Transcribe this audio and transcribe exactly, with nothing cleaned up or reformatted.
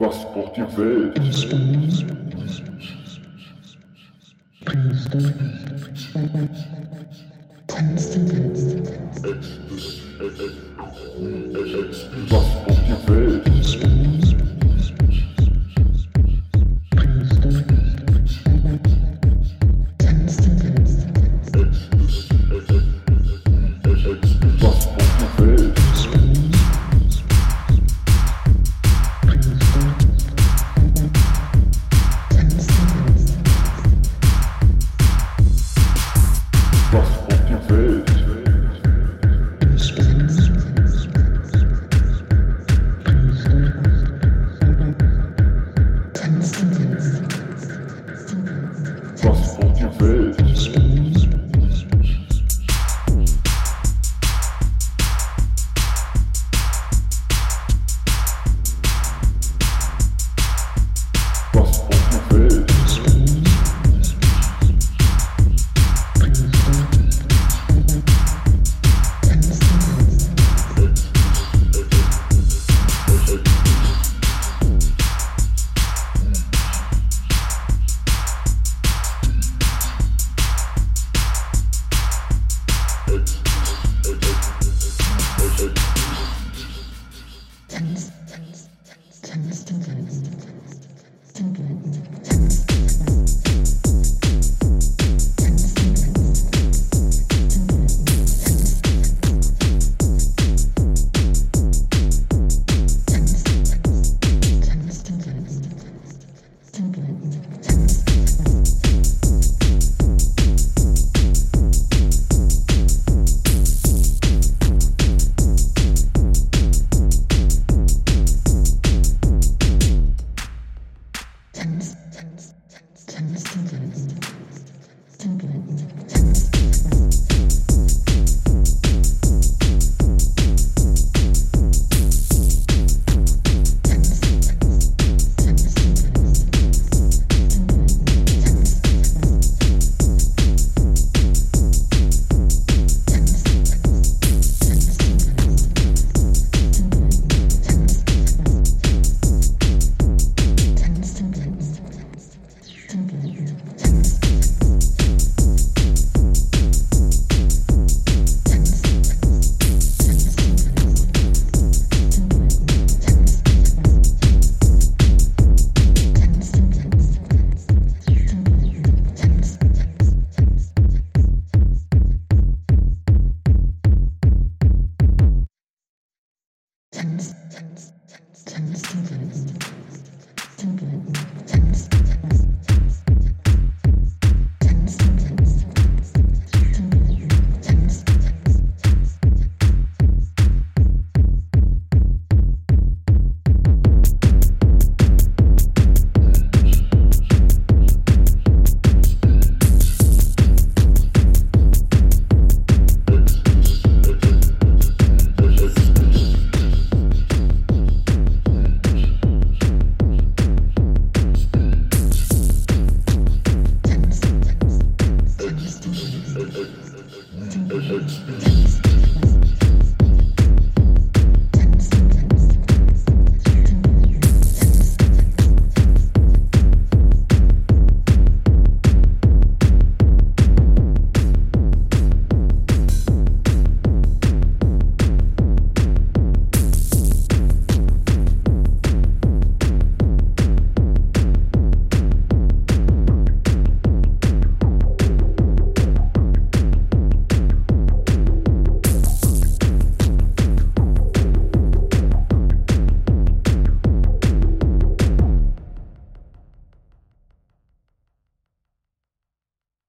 Was braucht die Welt? Entspannung, Brainstorm, Transzendenz, Was braucht die Welt? Entspannung, Brainstorm, Transzendenz, Was braucht die Welt? Entspannung, Brainstorm, Transzendenz, Was braucht die Welt? Entspannung, Brainstorm, Transzendenz, Was braucht die Welt? Entspannung, Was braucht die Welt? Entspannung, Brainstorm, Transzendenz, Tanz, Tanz, Tanz, Tanz, Tanz.